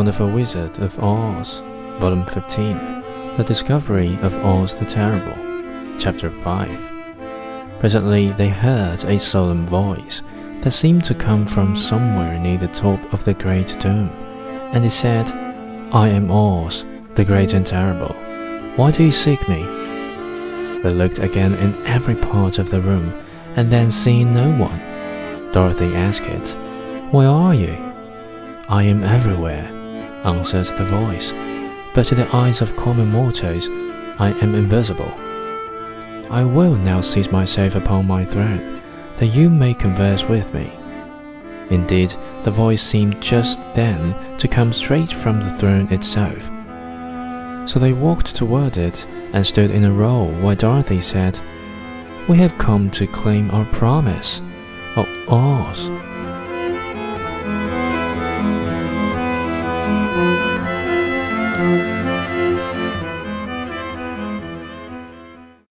Wonderful Wizard of Oz, Volume 15, The Discovery of Oz the Terrible, Chapter 5. Presently they heard a solemn voice that seemed to come from somewhere near the top of the great dome, and it said, "I am Oz, the great and terrible. Why do you seek me?" They looked again in every part of the room, and then seeing no one, Dorothy asked it, "Where are you?" "I am everywhere," answered the voice, "but to the eyes of common mortals, I am invisible. I will now seat myself upon my throne, that you may converse with me." Indeed, the voice seemed just then to come straight from the throne itself. So they walked toward it and stood in a row while Dorothy said, "We have come to claim our promise. Oh, Oz." Thank you.